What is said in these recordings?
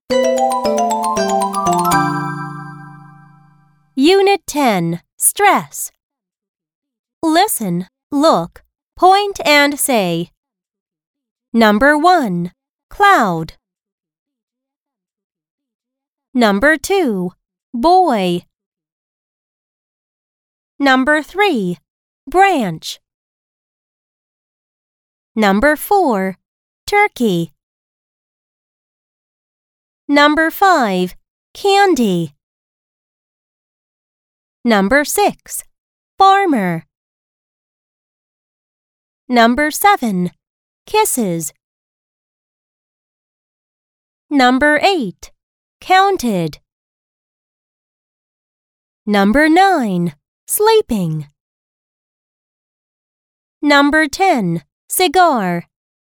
Unit 10. Stress. Listen, look, point and say. Number 1. Cloud. Number 2. Boy. Number 3. Branch. Number 4. Turkey. Number 5. Candy. Number 6. Farmer. Number 7. Kisses. Number 8. Counted. Number 9. Sleeping. Number 10. Cigar.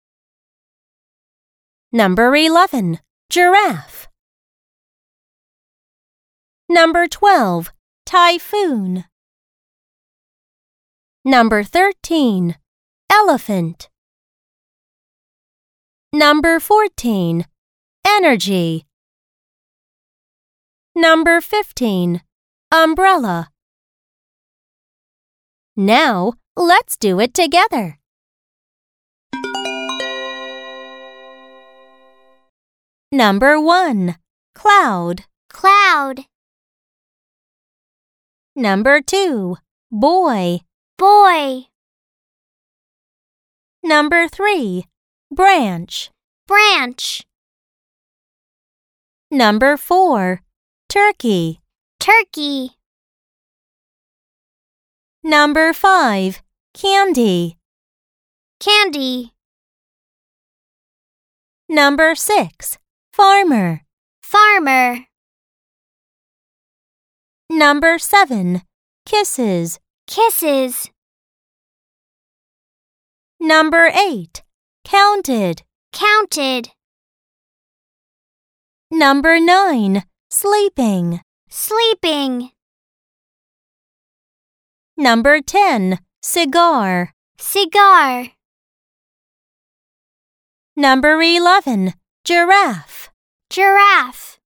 Number 11. Giraffe. Number 12. Typhoon. Number 13. Elephant. Number 14. Energy. Number 15. Umbrella. Now, let's do it together. Number 1. Cloud. Cloud. Number 2. Boy. Boy. Number 3. Branch. Branch. Number 4. Turkey. Turkey. Number 5. Candy. Candy. Number 6. Farmer. Farmer. Number 7. Kisses. Kisses. Number 8. Counted. Counted. Number 9. Sleeping. Sleeping. Number 10. Cigar. Cigar. Number 11. Giraffe. Giraffe.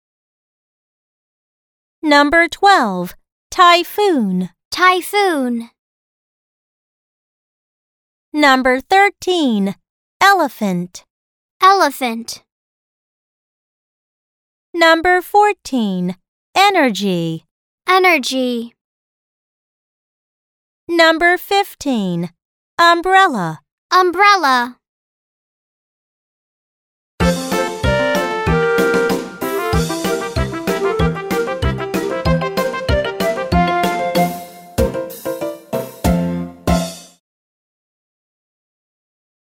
Number 12. Typhoon. Typhoon. Number 13. Elephant. Elephant. Number 14. Energy. Energy. Number 15. Umbrella. Umbrella.